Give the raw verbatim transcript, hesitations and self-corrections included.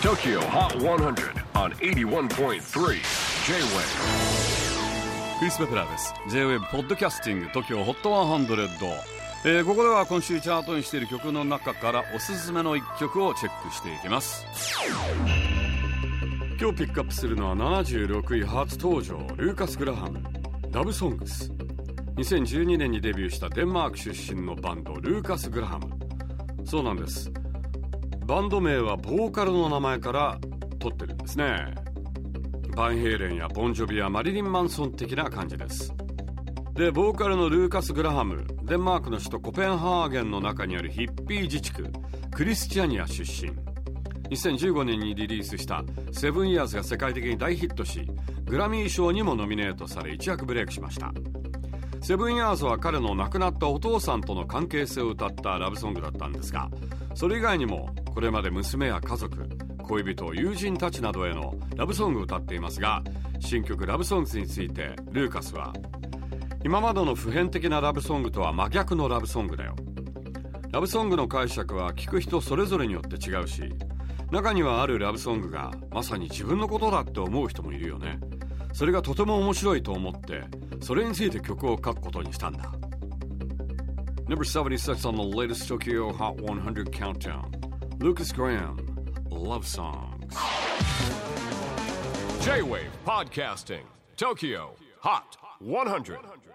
Tokyo Hot one hundred on エイティワンポイントスリー J-Wave。 クリス・ベプラーです。 J-Wave ポッドキャスティング Tokyo Hot ワンハンドレッド、えー、ここでは今週チャートにしている曲の中からおすすめのいっきょくをチェックしていきます。今日ピックアップするのはななじゅうろくい初登場、ルーカス・グラハム、ラブソングス。にせんじゅうにねんにデビューしたデンマーク出身のバンド、ルーカス・グラハム。そうなんです、バンド名はボーカルの名前から取ってるんですね。バンヘイレンやボンジョビやマリリン・マンソン的な感じです。で、ボーカルのルーカス・グラハム、デンマークの首都コペンハーゲンの中にあるヒッピー自治区クリスチャニア出身。にせんじゅうごねんにリリースしたセブンイヤーズが世界的に大ヒットし、グラミー賞にもノミネートされ一躍ブレイクしました。セブンイヤーズは彼の亡くなったお父さんとの関係性を歌ったラブソングだったんですが、それ以外にもこれまで娘や家族、恋人、友人たちなどへのラブソングを歌っていますが、新曲ラブソングスについてルーカスは、今までの普遍的なラブソングとは真逆のラブソングだよ。ラブソングの解釈は聴く人それぞれによって違うし、中にはあるラブソングがまさに自分のことだって思う人もいるよね。それがとても面白いと思って、それについて曲を書くことにしたんだ。 Number seventy-six on the latest Tokyo Hot one hundred countdown, Lucas Graham, Love Songs. J-Wave Podcasting Tokyo Hot one hundred.